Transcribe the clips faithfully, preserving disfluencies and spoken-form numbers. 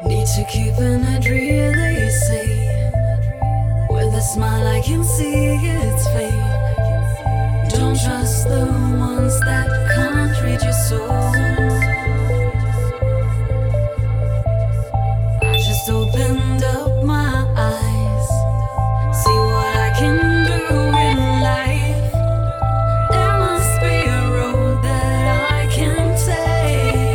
Need to keep it real, they say. With a smile I can see it's fake. Don't trust the ones that can't read your soul. I just opened up my eyes, see what I can do in life. There must be a road that I can take.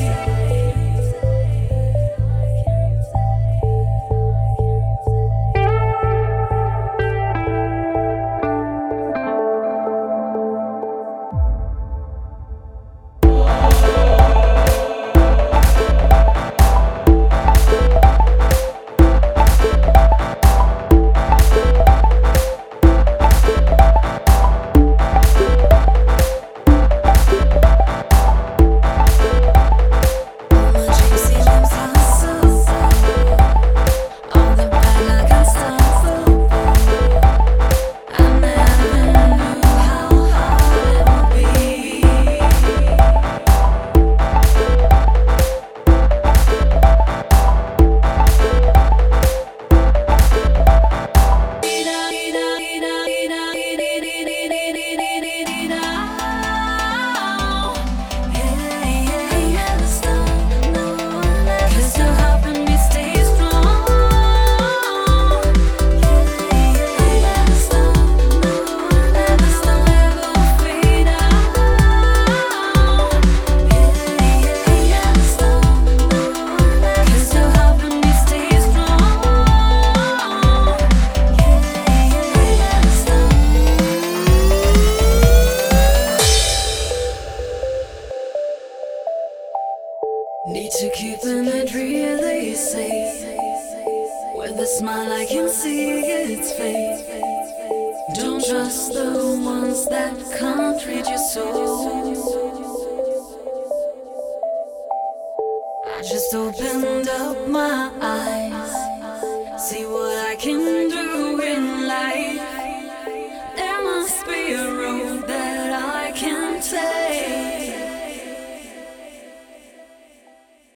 Need to keep it real, they say. With a smile I can see it's fake. Don't trust the ones that can't read your soul. I just opened up my eyes, see what I can